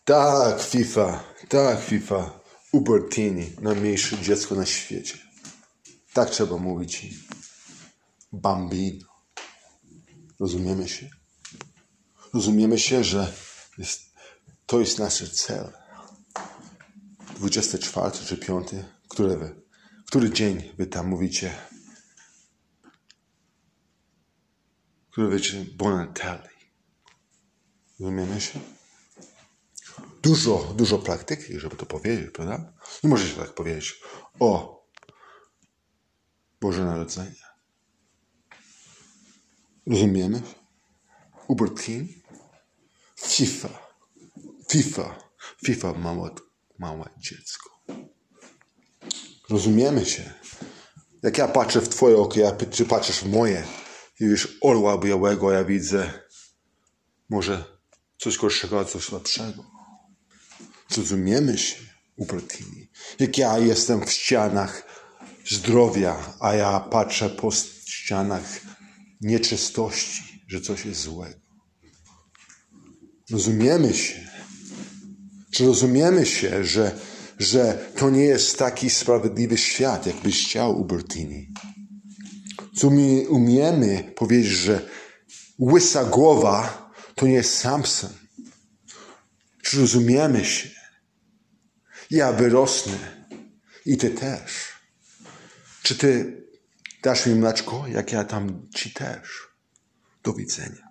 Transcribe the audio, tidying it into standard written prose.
Tak, FIFA. Ubertini, najmniejsze dziecko na świecie. Tak trzeba mówić. Bambino. Rozumiemy się? Rozumiemy się, że to jest nasz cel. 24 czy 5, który dzień wy tam mówicie? Który wiecie? Bon Natale. Rozumiemy się? Dużo praktyki, żeby to powiedzieć, prawda? Nie możesz tak powiedzieć o Boże Narodzenie. Rozumiemy? Ubertini? FIFA małe dziecko. Rozumiemy się. Jak ja patrzę w twoje oko, czy patrzysz w moje i widzisz orła białego, ja widzę może coś gorszego, coś lepszego. Rozumiemy się, Ubertini. Jak ja jestem w ścianach zdrowia, a ja patrzę po ścianach nieczystości, że coś jest złego. Rozumiemy się. Czy rozumiemy się, że to nie jest taki sprawiedliwy świat, jakbyś chciał, Ubertini? Co my umiemy powiedzieć, że łysa głowa to nie jest Samson. Czy rozumiemy się? Ja wyrosnę i ty też. Czy ty dasz mi mleczko, jak ja tam ci też? Do widzenia.